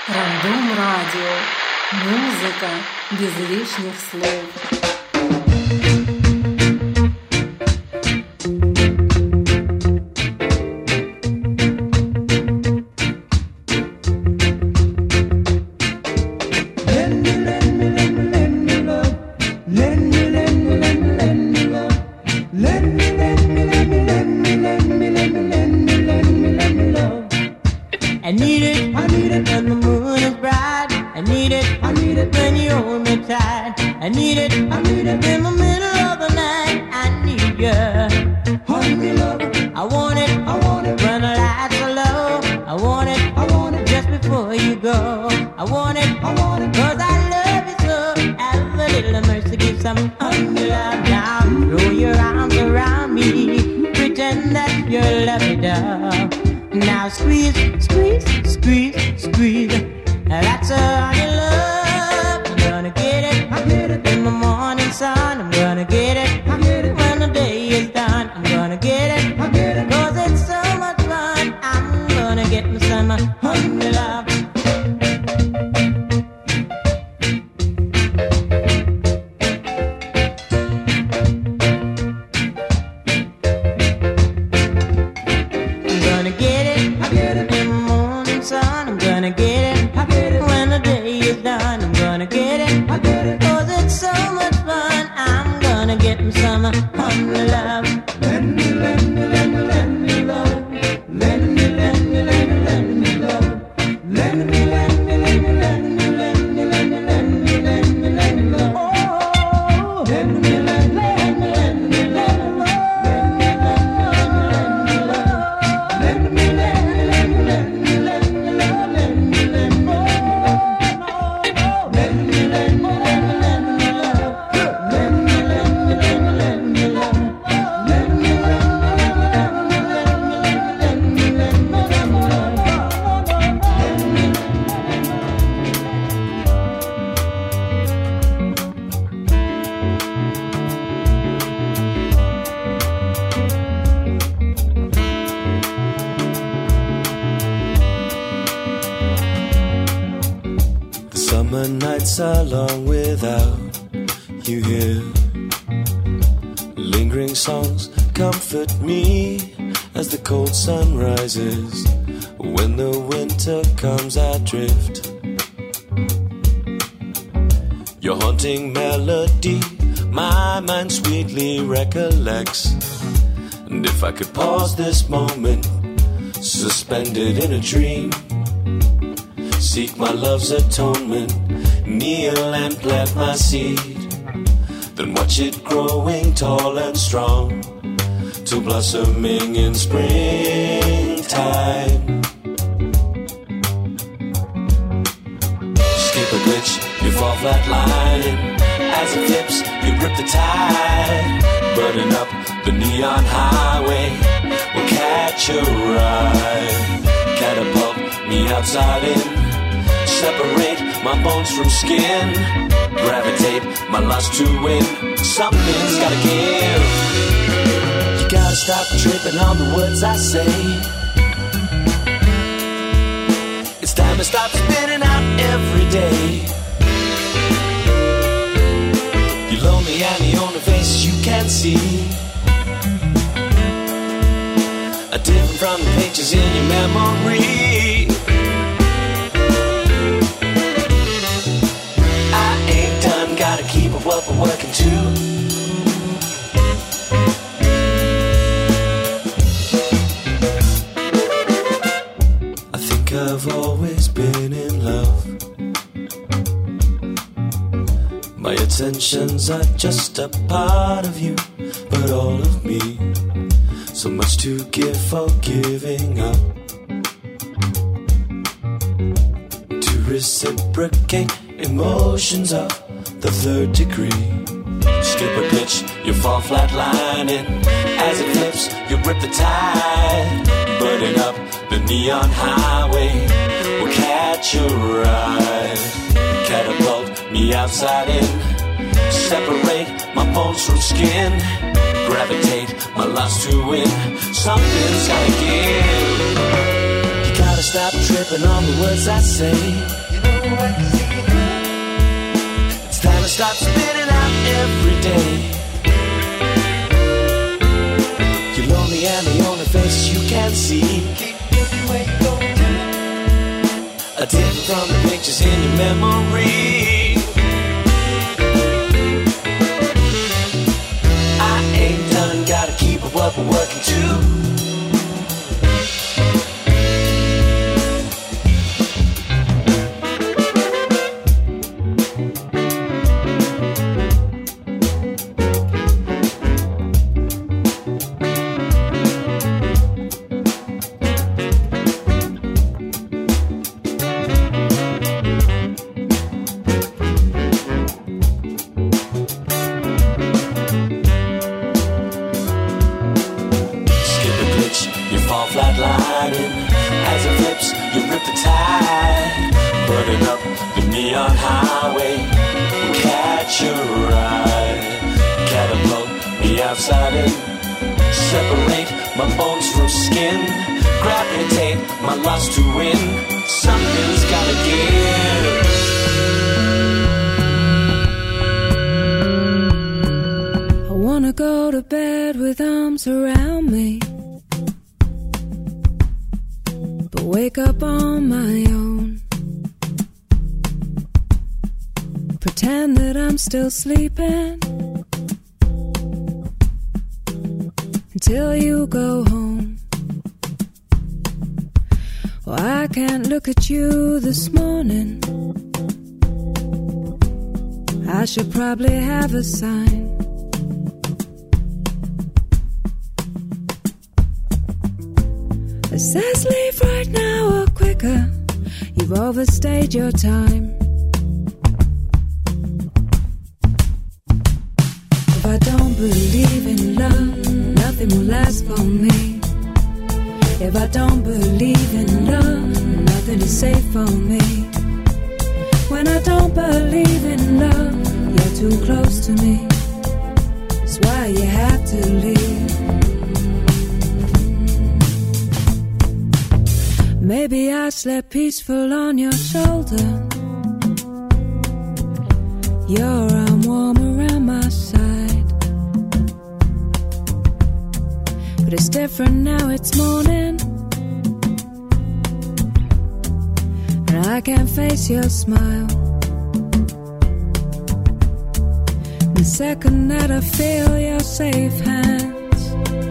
Рандом Радио. Музыка без лишних слов. Are long without you here. Lingering songs comfort me as the cold sun rises. When the winter comes I drift. Your haunting melody my mind sweetly recollects. And if I could pause this moment, suspended in a dream, seek my love's atonement, kneel and plant my seed, then watch it growing tall and strong, till blossoming in springtime. Skip a glitch, you fall flatlining. As it flips, you grip the tide. Burning up the neon highway, will catch a ride. Catapult me outside in, separate my bones from skin, gravitate my lust to win. Something's gotta give. You gotta stop tripping on the words I say. It's time to stop spinning out every day. You're lonely and the only face you can see are different from the pages in your memory. Gotta keep up what we're working to. I think I've always been in love. My attentions are just a part of you, but all of me. So much to give for giving up. To reciprocate emotions of the third degree. Skip a glitch, you fall flatlining. As it flips, you grip the tide. Burning up the neon highway, will catch a ride. Catapult me outside in, separate my bones from skin, gravitate my lust to win. Something's gotta give. You gotta stop tripping on the words I say. It's time to stop spinning out every day. You're lonely and the only face you can see are different from the pictures in your memory. I ain't done, gotta keep up what we're working to. Flatlining as it flips, you rip the tide, burning up the neon highway. Catch your ride, catapult me outside in, separate my bones from skin, gravitate my loss to win. Something's gotta give. I wanna go to bed with arms around me, wake up on my own. Pretend that I'm still sleeping until you go home. Well, I can't look at you this morning. I should probably have a sign. It says leave right now or quicker, you've overstayed your time. If I don't believe in love, nothing will last for me. If I don't believe in love, nothing is safe for me. When I don't believe in love, you're too close to me. That's why you have to leave. Maybe I slept peaceful on your shoulder, your arm warm around my side. But it's different now, it's morning, and I can't face your smile. The second that I feel your safe hands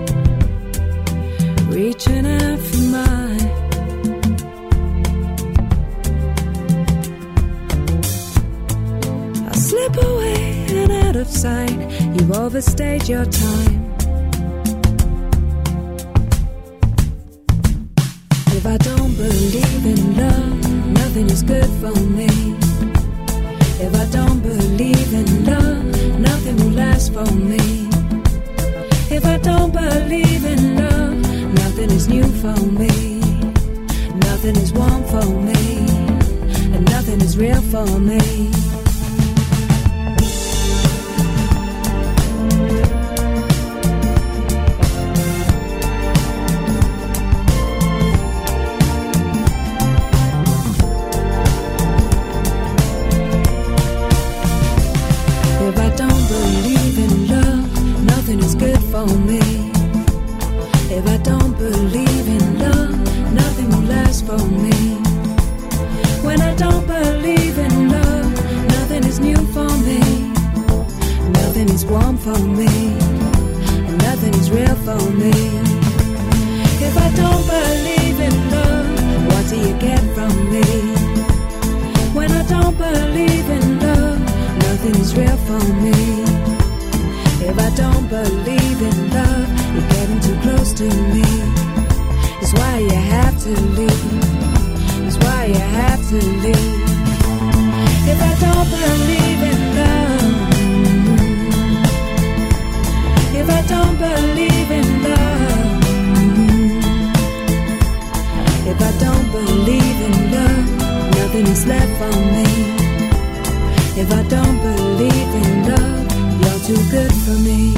reaching out for mine, slip away and out of sight. You've overstayed your time. If I don't believe in love, nothing is good for me. If I don't believe in love, nothing will last for me. If I don't believe in love, nothing is new for me. Nothing is warm for me, and nothing is real for me. For me, if I don't believe in love, nothing will last for me. When I don't believe in love, nothing is new for me. Nothing is warm for me, and nothing is real for me. If I don't believe in love, what do you get from me? When I don't believe in love, nothing is real for me. If I don't believe in love, you're getting too close to me. That's why you have to leave. That's why you have to leave. If I don't believe in love, if I don't believe in love, if I don't believe in love, nothing is left for me. If I don't believe in love, you're too good for me.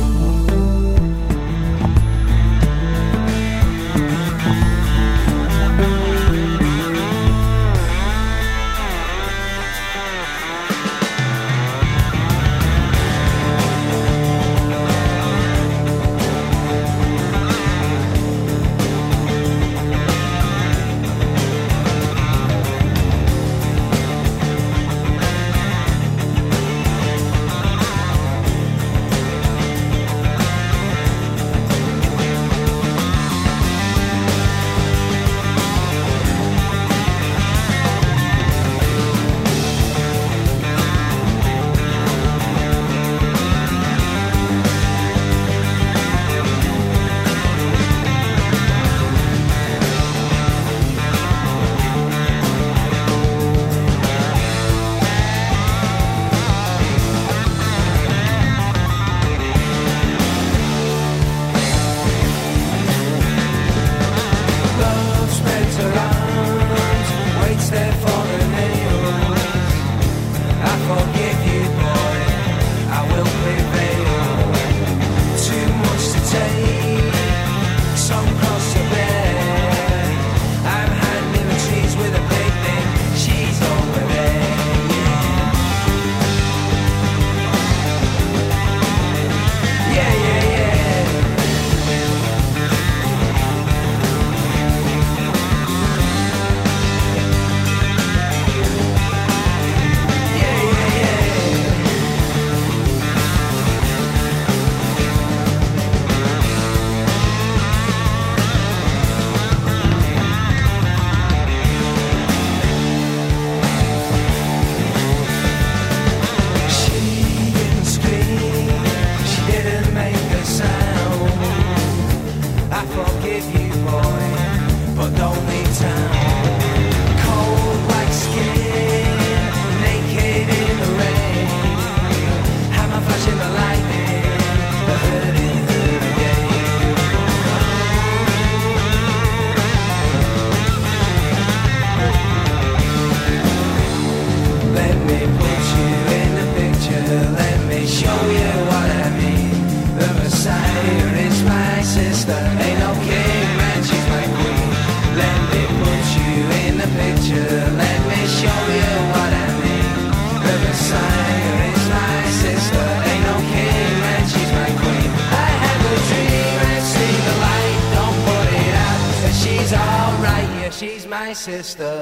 but don't leave town. Cold like skin, naked in the rain. Hammer flashing the lightning, the hurting hurt again. Let me put you in the picture, let me show you what I mean. The Messiah is my sister, ain't no king, man, she's my queen. Let me put you in the picture, let me show you what I mean. The Messiah is my sister, ain't no king, man, she's my queen. I have a dream and see the light, don't put it out, and she's alright, yeah, she's my sister.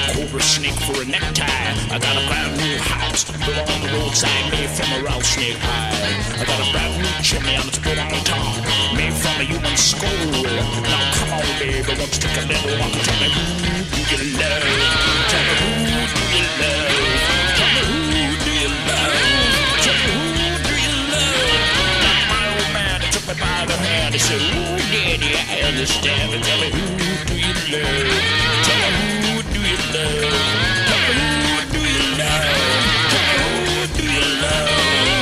cobra snake for a necktie. I got a brand new house built on the roadside, made from a rattlesnake hide. I got a brand new chimney and it's built on top, made from a human skull. Now come on, baby, won't you take a little walk and tell me who do you love? Tell me who do you love? Tell me who do you love? Tell me who do you love? Now my old man, he took me by the hand. He said, ooh, daddy, I understand. But tell me who do you love? Tell me who do you love? Tell me who do you love? Tell me who do you love?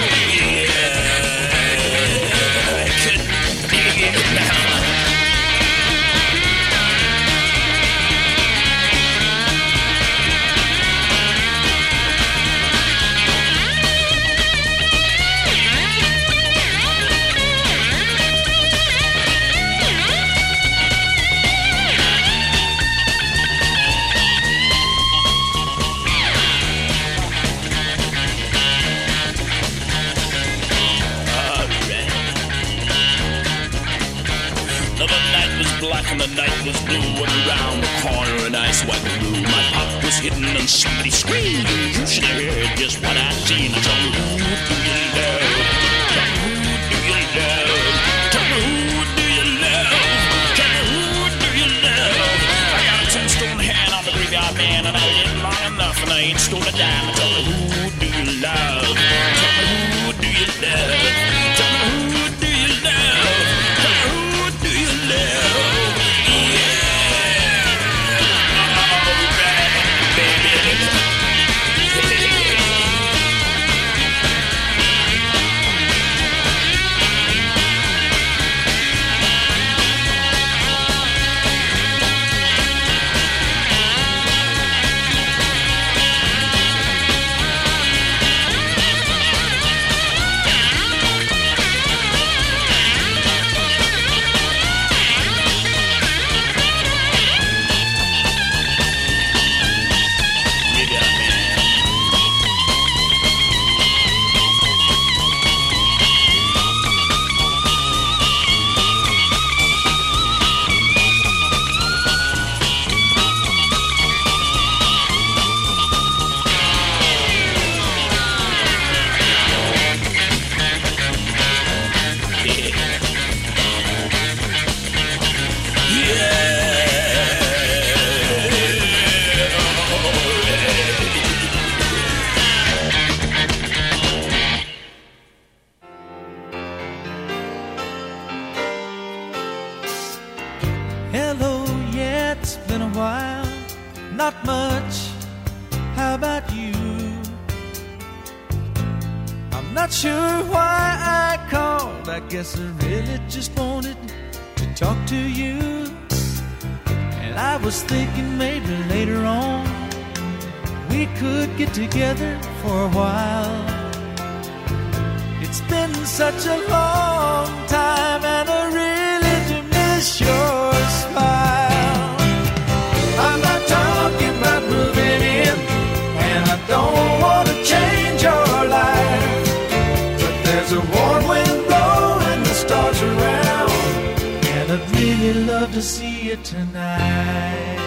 Yeah, I couldn't dig it now. And the night was blue, and around the corner an ice white blue. My pop was hidden and somebody screamed. You should have heard just what I seen. Tell me who do you love? Tell me who do you love? Tell me who do you love? Tell me who do you love? I got a 10-stone hand on the graveyard man, and I lived long enough, and I ain't stole a dime. Tell me who do you love? Tell me who do you love? Tell me who do you love? Tell me who do you love? Guess I really just wanted to talk to you. And I was thinking maybe later on we could get together for a while. It's been such a long time and I really do miss your smile. I'm not talking about moving in, and I don't want to change your life, but there's a warm wind stars around, and I'd really love to see you tonight.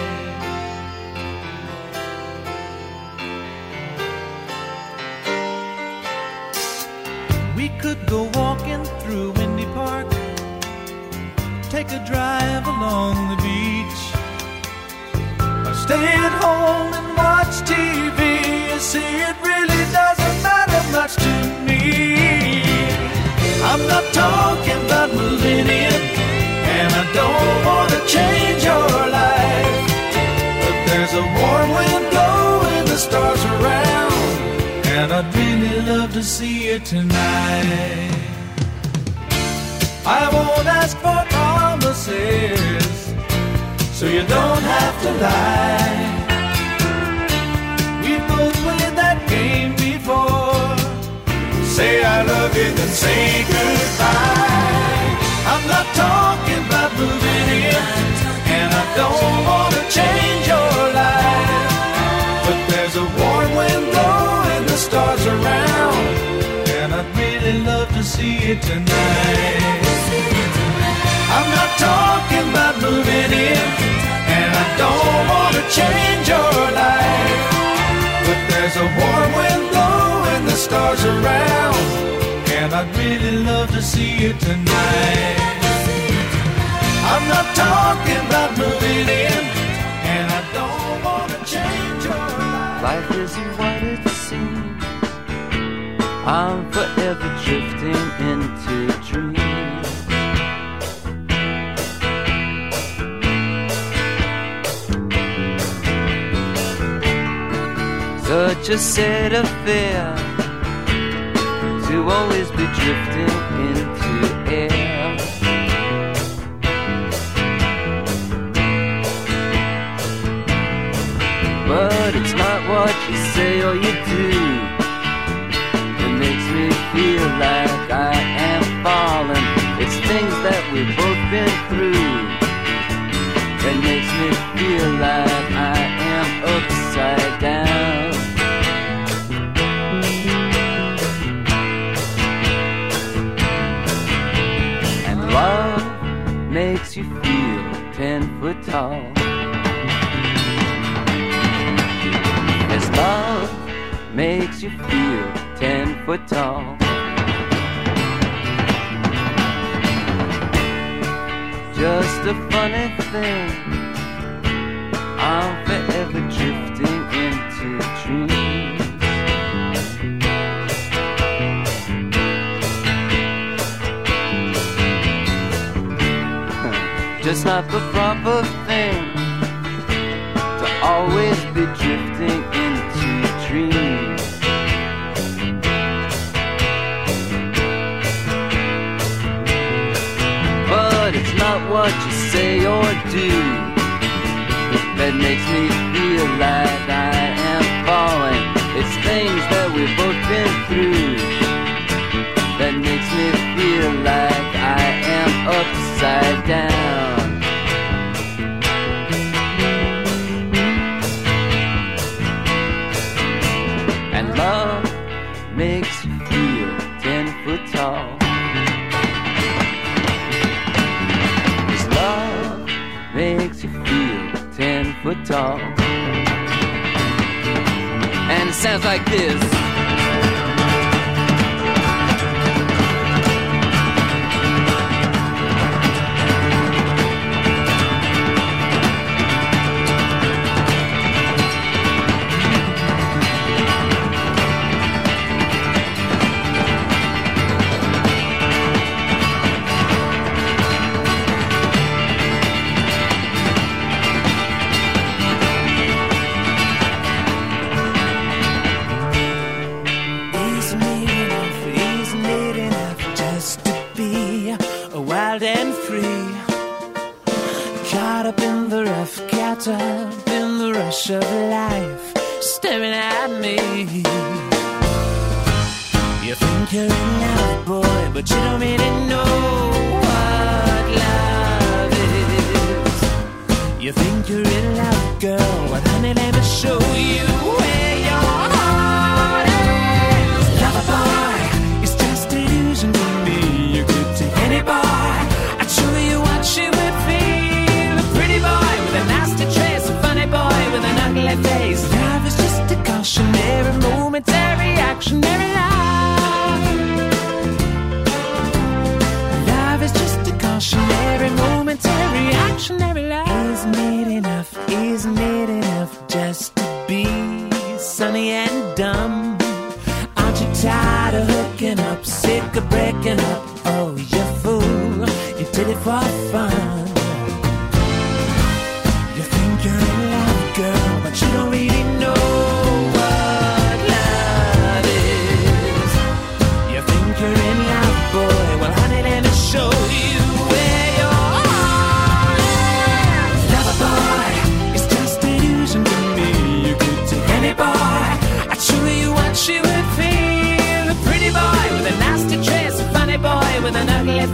We could go walking through Windy Park, take a drive along the beach, or stay at home and watch TV. You see, it really doesn't matter much to me. I'm not talking about moving in, and I don't want to change your life, but there's a warm wind blowing the stars around, and I'd really love to see you tonight. I won't ask for promises, so you don't have to lie. We both played that game before. Say I love you, then say goodbye. I'm not talking about moving in, and I don't want to change your life, but there's a warm wind blowing the stars around, and I'd really love to see you tonight. I'm not talking about moving in, and I don't want to change your life. But there's a warm wind blowing the stars around, and I'd really love to see you tonight. I'm not talking about moving in, and I don't want to change your life. Life isn't what it seems. I'm forever drifting into dreams. Such a set of fear to always be drifting into air. But it's not what you say or you do that makes me feel like I am falling. It's things that we've both been through that makes me feel like I am upside down. And love makes you feel 10 foot tall. As love makes you feel 10 foot tall. Just a funny thing, I'm forever drifting into dreams. Just not the proper thing to always be drifting into dreams. But it's not what you say or do that makes me feel like I am falling. It's things that we've both been through that makes me feel like I am upside down. And love makes you feel 10 foot tall. Makes you feel 10 foot tall. And it sounds like this. Up in the rush of life, staring at me. You think you're in love, boy, but you don't really know what love is. You think you're in love, girl, well, honey, let me show you where your heart is. Lover boy, it's just an illusion to me. You could take any boy, I'd show you what she would feel. A pretty boy with a nasty trace, a funny boy with an ugly face. Love is just a cautionary, momentary, actionary love. Love is just a cautionary, momentary, actionary love. Isn't it enough? Isn't it enough just to be sunny and dumb? Aren't you tired of hooking up, sick of breaking up? Oh, you fool, you did it for fun. You're in love, girl, but you don't really know what love is. You think you're in love, boy, well, honey, let me show you where your heart is. Lover boy, it's just an illusion to me. You could take any boy, I'd show you what she would feel. A pretty boy with a nasty trace, a funny boy with an ugly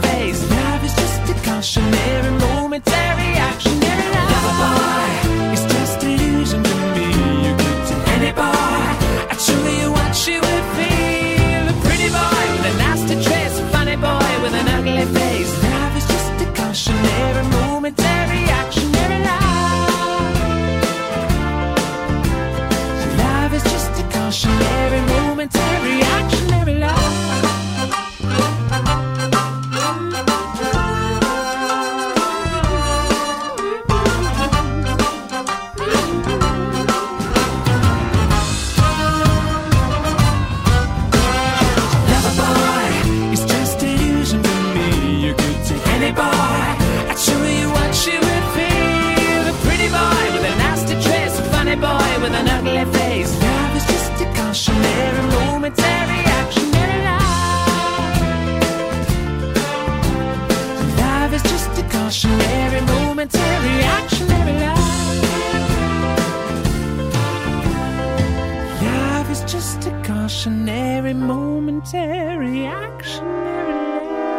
days. Love is just a cautionary, momentary, actionary lie. Love is just a cautionary, momentary, actionary lie. Love is just a cautionary, momentary, actionary lie.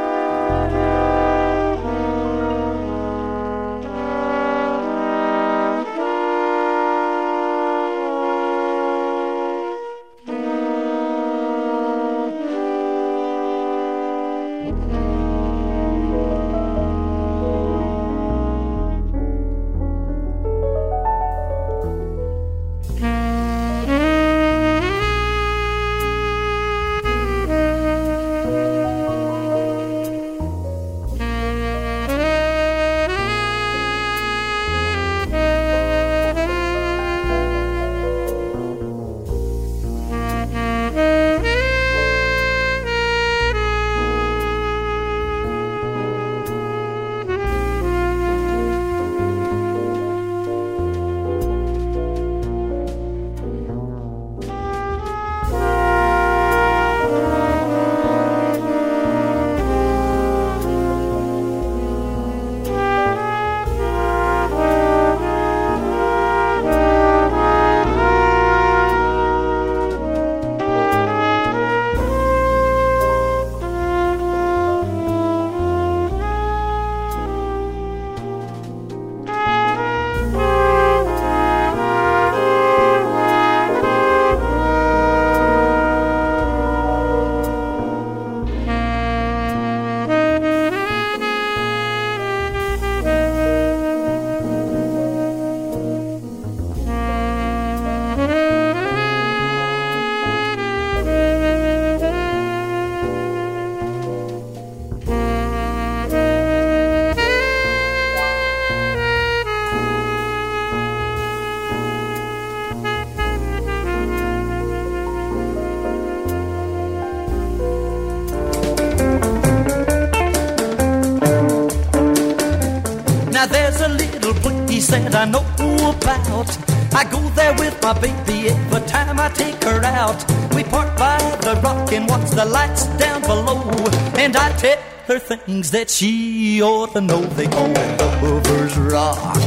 There's a little place that I know about. I go there with my baby every time I take her out. We park by the rock and watch the lights down below. And I tell her things that she ought to know. They call it Lover's Rock.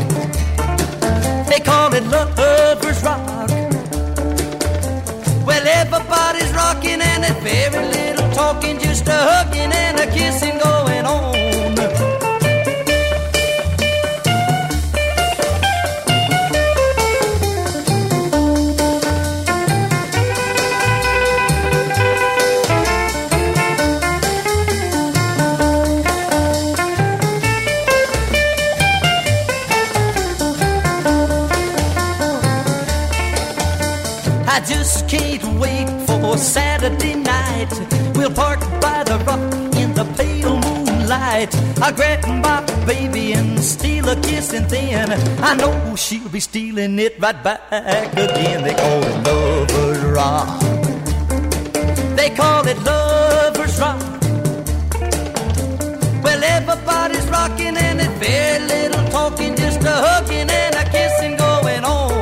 They call it Lover's Rock. Well, everybody's rocking and there's very little talking, just a hugging and a kissing going on. I just can't wait for Saturday night. We'll park by the rock in the pale moonlight. I'll grab my baby and steal a kiss, and then I know she'll be stealing it right back again. They call it Lover's Rock. They call it Lover's Rock. Well, everybody's rocking and there's very little talking, just a hugging and a kissing going on.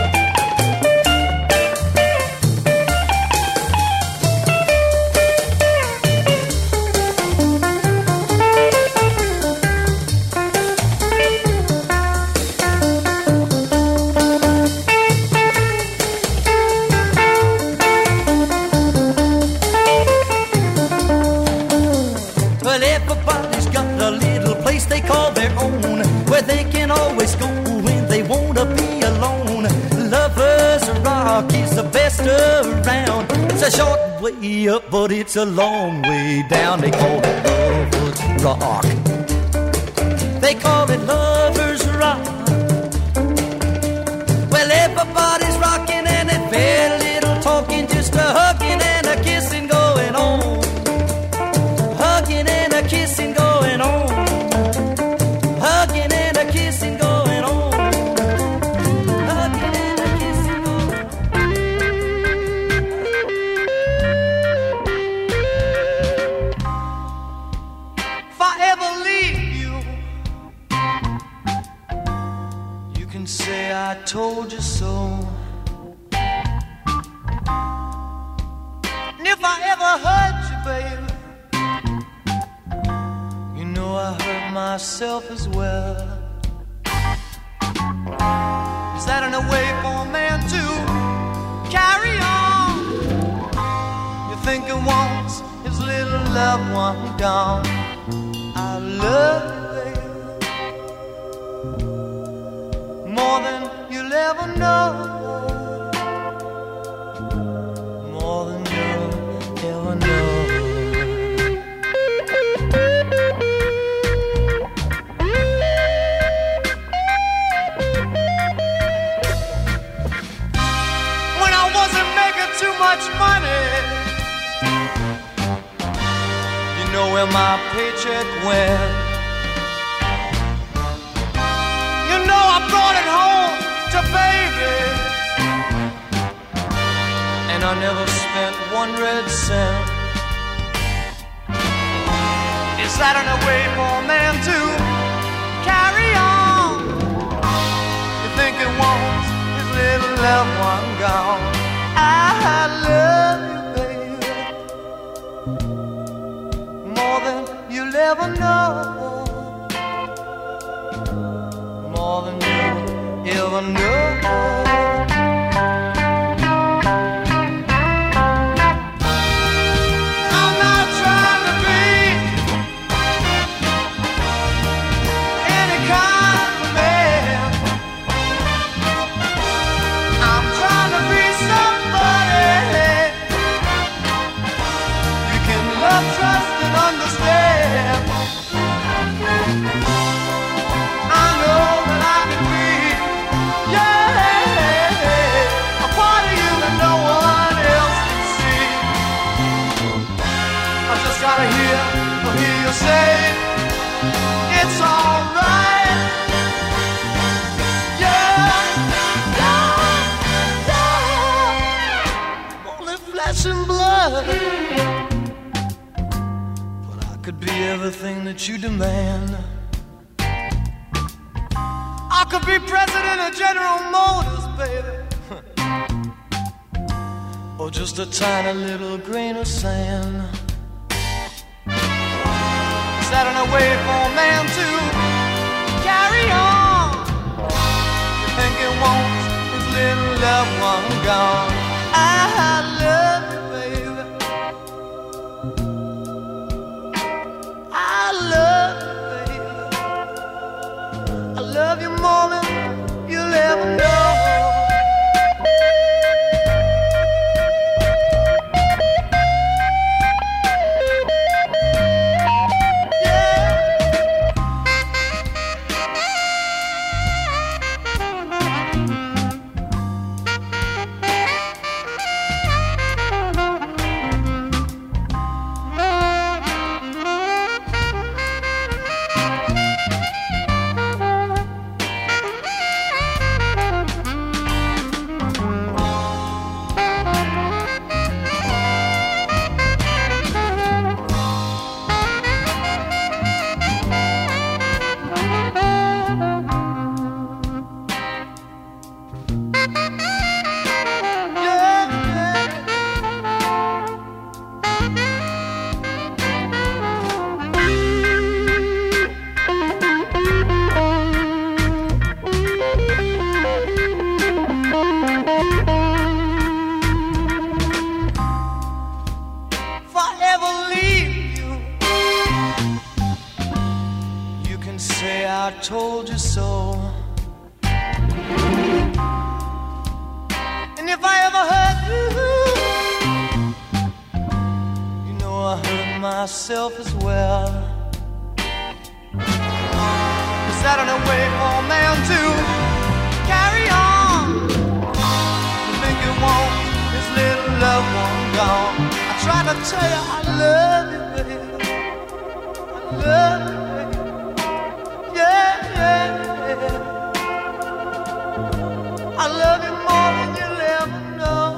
They call their own, where they can always go when they wanna be alone. Lover's Rock is the best around. It's a short way up, but it's a long way down. They call it Lover's Rock. They call it Lover's Rock. Well, everybody's rocking and there's very little talking, just a hugging and a kissing going on. Hugging and a kissing going on. Hugging and a kissing going on. Hugging and a kissing going on. If I ever leave you, you can say I told you so. myself as well. Is that in a way for a man to carry on? You think he wants his little loved one gone? I love you, baby, more than you'll ever know. More than you'll ever know. Too much money, you know where my paycheck went. You know I brought it home to baby, and I never spent one red cent. Is that in a way for a man to carry on? You think he wants his little loved one gone? I love you, baby, more than you'll ever know. More than you'll ever know. I'm not trying to be any kind of man. I'm trying to be trust and understand. I know that I can be, yeah, a part of you that no one else can see. I just gotta hear you say it's alright. Yeah, I'm only flesh and blood. Could be everything that you demand. I could be president of General Motors, baby, or just a tiny little grain of sand. Is that in a way for a man to carry on? You think he wants his little loved one gone? I love you, baby, I love you, baby. I love you more than you'll ever know. Told you so. And if I ever hurt you, you know I hurt myself as well. Is that in a way for a man to carry on? You think you want his little loved one gone? I try to tell you I love you, baby, I love you. I love you more than you'll ever know.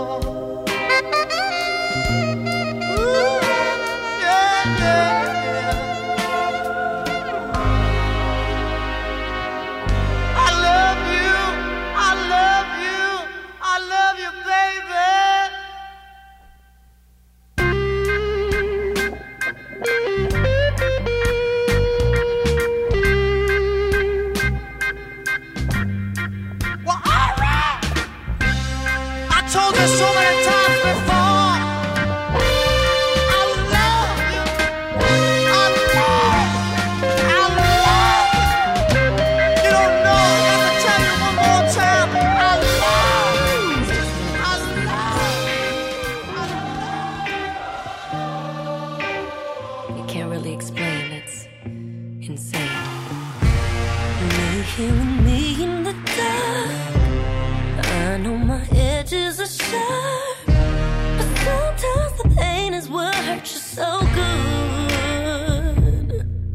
Ooh, yeah, yeah. I love you, I love you, I love you, baby. me so many times before. I love you. I love you. You don't know. Let me tell you one more time. I love you. I love you. You can't really explain. It's insane. Me here with me in the dark. I know my edges are sharp, but sometimes the pain is what hurts you so good.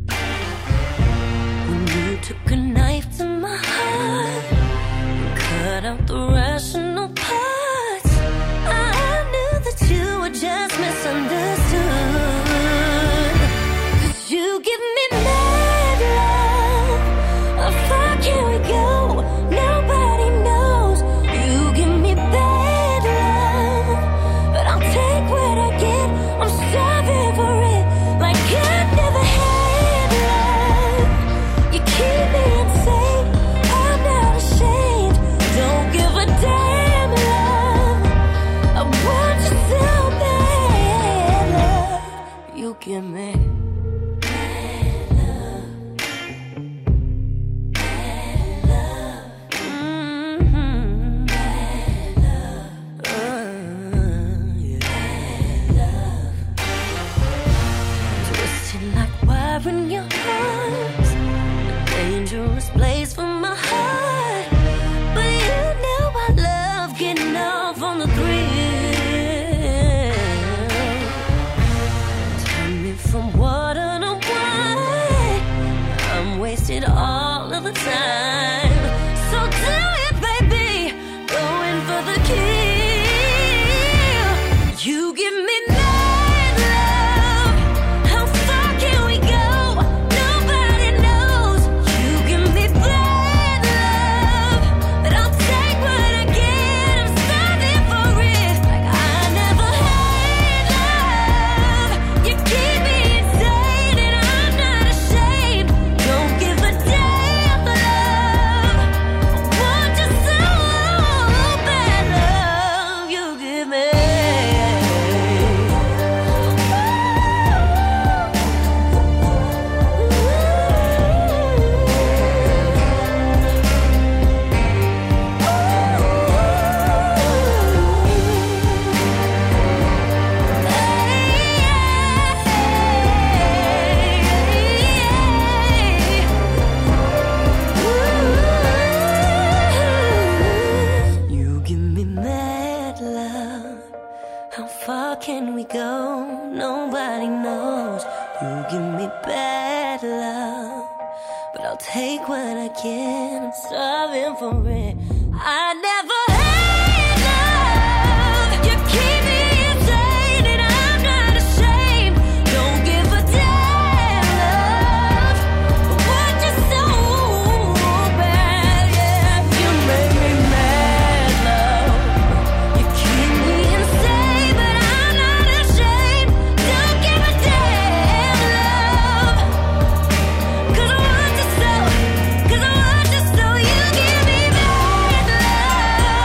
When you took a knife to my heart and cut out the rational parts, I knew that you were just misunderstood. 'Cause you give me mad love. How far can we go? Nobody knows. You give me bad love, but I'll take what I get. I'm starving for it, like I never had love. You keep me insane. I'm not ashamed. Don't give a damn love. I want you so bad love. You give me bad love. Bad love. Bad love. Twisted like wire in your arms, a dangerous place for my heart. But you know I love getting off on the thrill. Turn me from water to wine. I'm wasted all of the time. So do it, baby. Going for the kill. You give me mad love. How far can we go? Nobody knows. You give me bad love, but I'll take what I get. I'm starving for it, like I never had love. You keep me insane, and I'm not ashamed. Don't give a damn love. I want you so bad love. You give me. You give me mad love. How far can we go? Nobody knows. You give me bad love, but I'll take what I can. I'm starving for it. I never had love. You keep me insane, and I'm not ashamed. Don't give a damn love. I want you so bad, yeah. You make me mad love. You keep me insane, but I'm not ashamed. Don't give a damn love. 'Cause I want you so. 'Cause I want you so. You give me bad love.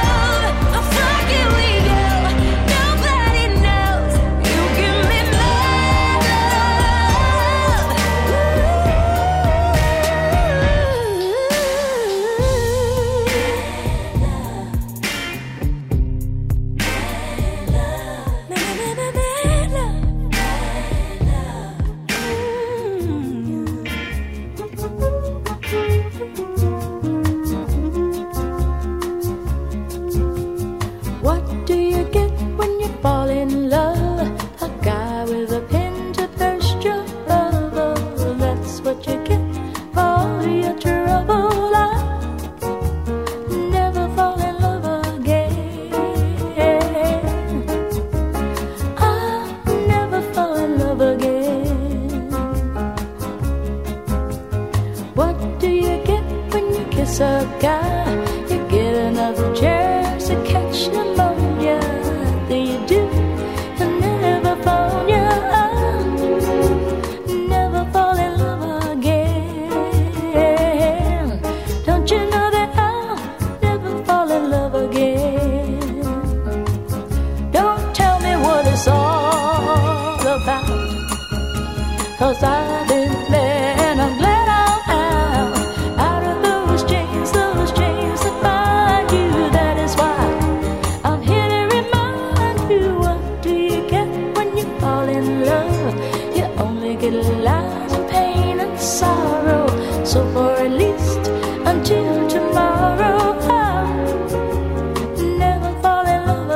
'cause I've been there and I'm glad I'm out of those chains that bind you. That is why I'm here to remind you, what do you get when you fall in love? You only get lies and pain and sorrow. So for at least until tomorrow, I'll never fall in love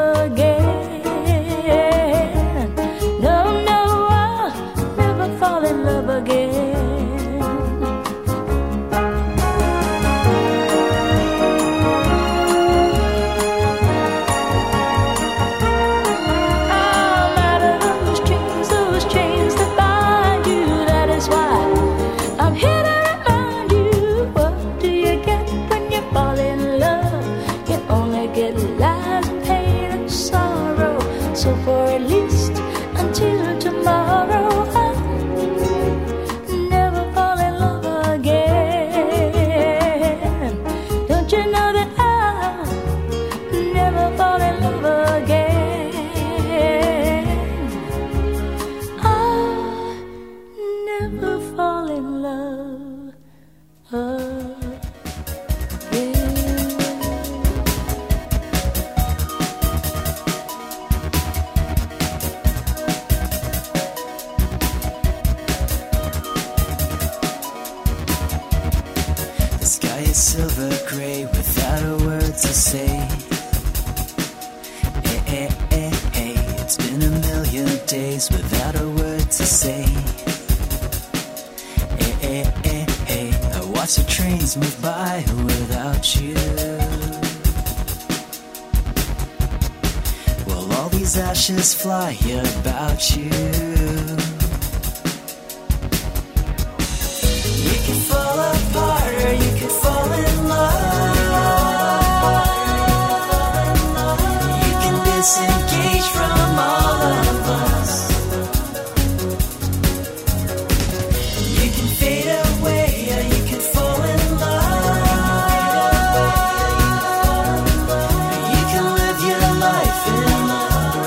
again. No, no, I'll never fall in love again. I'm out of those chains that bind you. That is why I'm here to remind you, what do you get when you fall in love? You only get lies and pain and sorrow. So for at least until tomorrow, I'll never fall in love again. Don't you know that I'll never fall in love again? I'll never fall in love again. The sky is silver gray without a word to say. It's been a million days without a word to say. I watch the trains move by without you. Well, all these ashes fly about you. You can fall apart or you can fall in love. You can disengage from all of us. You can fade away or you can fall in love. You can live your life in love.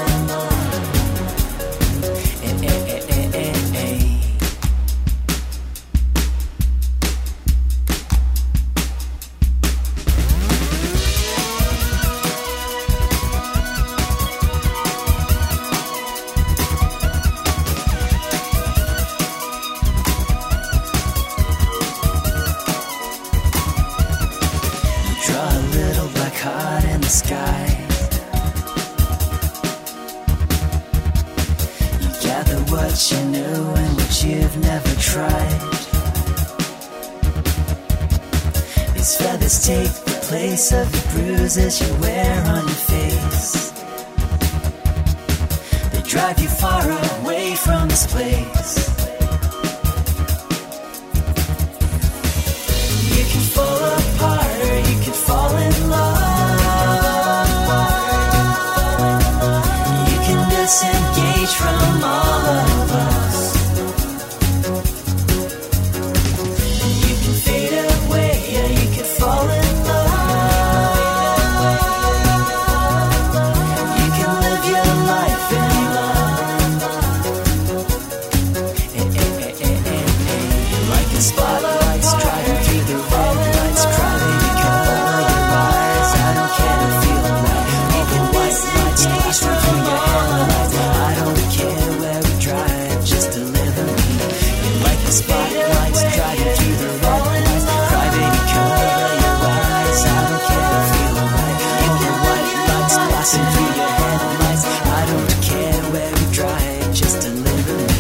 You draw a little black heart in the sky. You gather what you know and what you've never tried. These feathers take the place of the bruises you wear on your face. They drive you far away from this place. You can fall apart or you can fall in love. You can disengage from all of us. You can fade away or you can fall in love. You can live your life in love. Like the spotlights driving through the red lights, crying cover your eyes. I don't care to feel right. All the white lights flashing through your headlights. I don't care where we drive, just deliver me. You like the spotlights driving through the red lights, crying cover your eyes. I don't care to feel right. All the white lights flashing through your headlights. I don't care where we drive, just deliver me.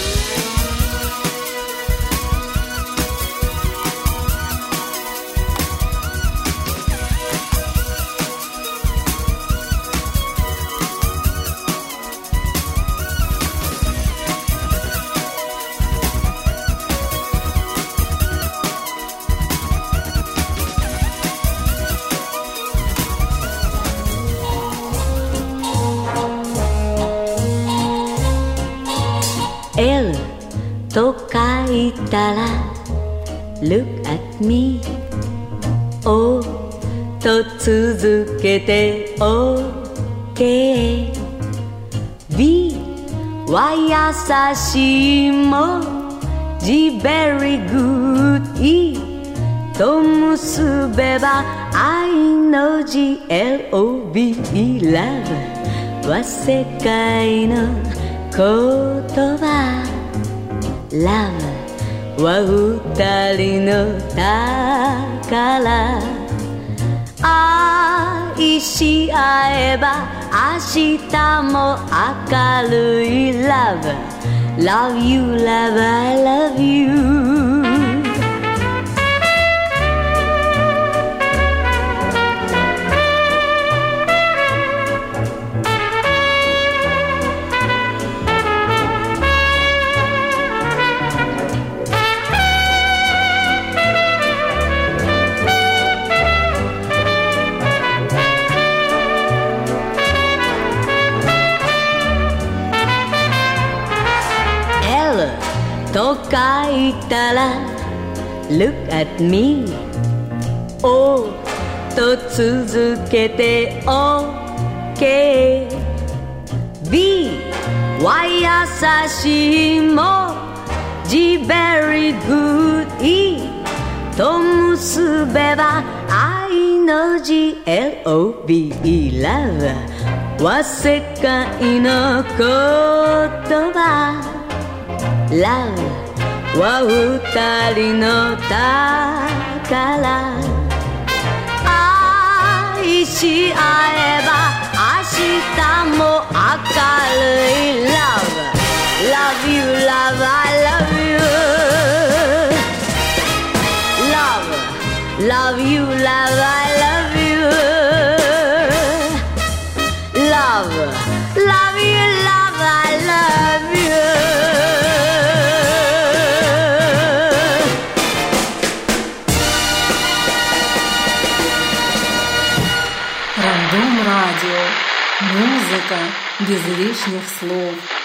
L と書いたら Look at me O と続けて OK B は優しいも The very good いいと結べば愛の GLOVE Love は世界の言葉 Love は二人の宝愛し合えば明日も明るい Love Love you, love, I love youと書いたら Look at me O と続けて OK B は優しいも G very good E と結べば愛の GLOVE Love は世界の言葉Love は二人の宝愛し合えば明日も明るい Love Love you, love, I love you Love, love you, love, I love you Love, love you, love, I love you Рандом радио. Музыка без лишних слов.